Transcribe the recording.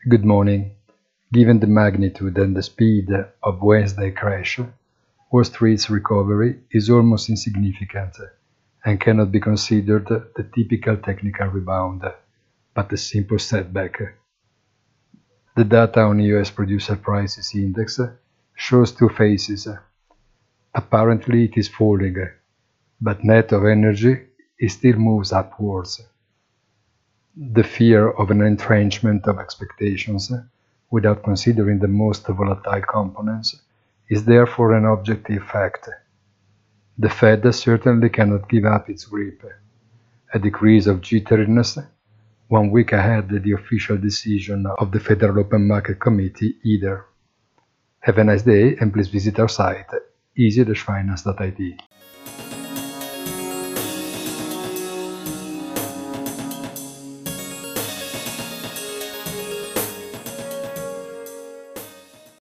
Good morning. Given the magnitude and the speed of Wednesday crash, Wall Street's recovery is almost insignificant and cannot be considered the typical technical rebound, but a simple setback. The data on US Producer Prices Index shows two phases. Apparently it is falling, but net of energy it still moves upwards. The fear of an entrenchment of expectations, without considering the most volatile components, is therefore an objective fact. The Fed certainly cannot give up its grip. A decrease of jitteriness 1 week ahead the official decision of the Federal Open Market Committee either. Have a nice day and please visit our site easy-finance.it.